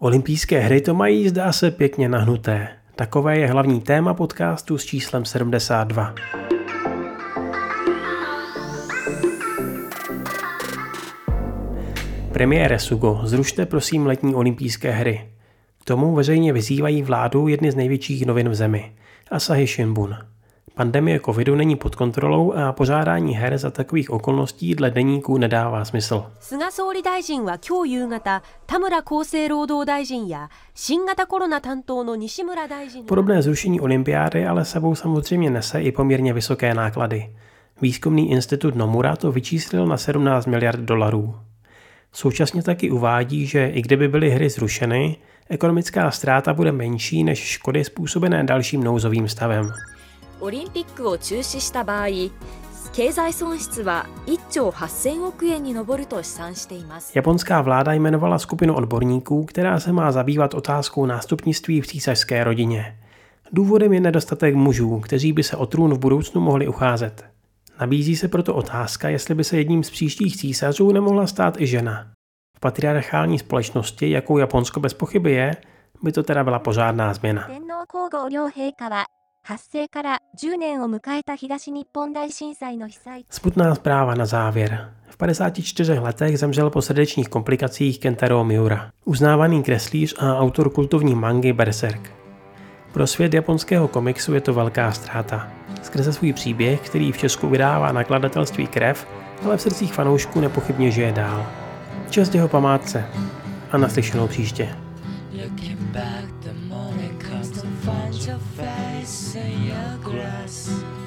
Olympijské hry to mají, zdá se, pěkně nahnuté. Takové je hlavní téma podcastu s číslem 72. Premiére Sugo, zrušte prosím letní olympijské hry. K tomu veřejně vyzývají vládu jedny z největších novin v zemi, Asahi Shimbun. Pandemie covidu není pod kontrolou a pořádání her za takových okolností dle deníku nedává smysl. Podobné zrušení olympiády ale sebou samozřejmě nese i poměrně vysoké náklady. Výzkumný institut Nomura to vyčíslil na 17 miliard dolarů. Současně taky uvádí, že i kdyby byly hry zrušeny, ekonomická ztráta bude menší než škody způsobené dalším nouzovým stavem. オリンピックを中止した場合、経済損失は1兆8000億円に上ると試算しています。 Japonská vláda jmenovala skupinu odborníků, která se má zabývat otázkou nástupnictví v císařské rodině. Důvodem je nedostatek mužů, kteří by se o trůn v budoucnu mohli ucházet. Nabízí se proto otázka, jestli by se jedním z příštích císařů nemohla stát i žena. V patriarchální společnosti, jakou Japonsko bez pochyby je, by to teda byla pořádná změna. Smutná zpráva na závěr. V 54 letech zemřel po srdečních komplikacích Kentaro Miura, uznávaný kreslíř a autor kultovní mangy Berserk. Pro svět japonského komiksu je to velká ztráta. Skrze svůj příběh, který v Česku vydává nakladatelství Krev, ale v srdcích fanoušků nepochybně žije dál. Čest jeho památce a naslyšenou příště. Your grass.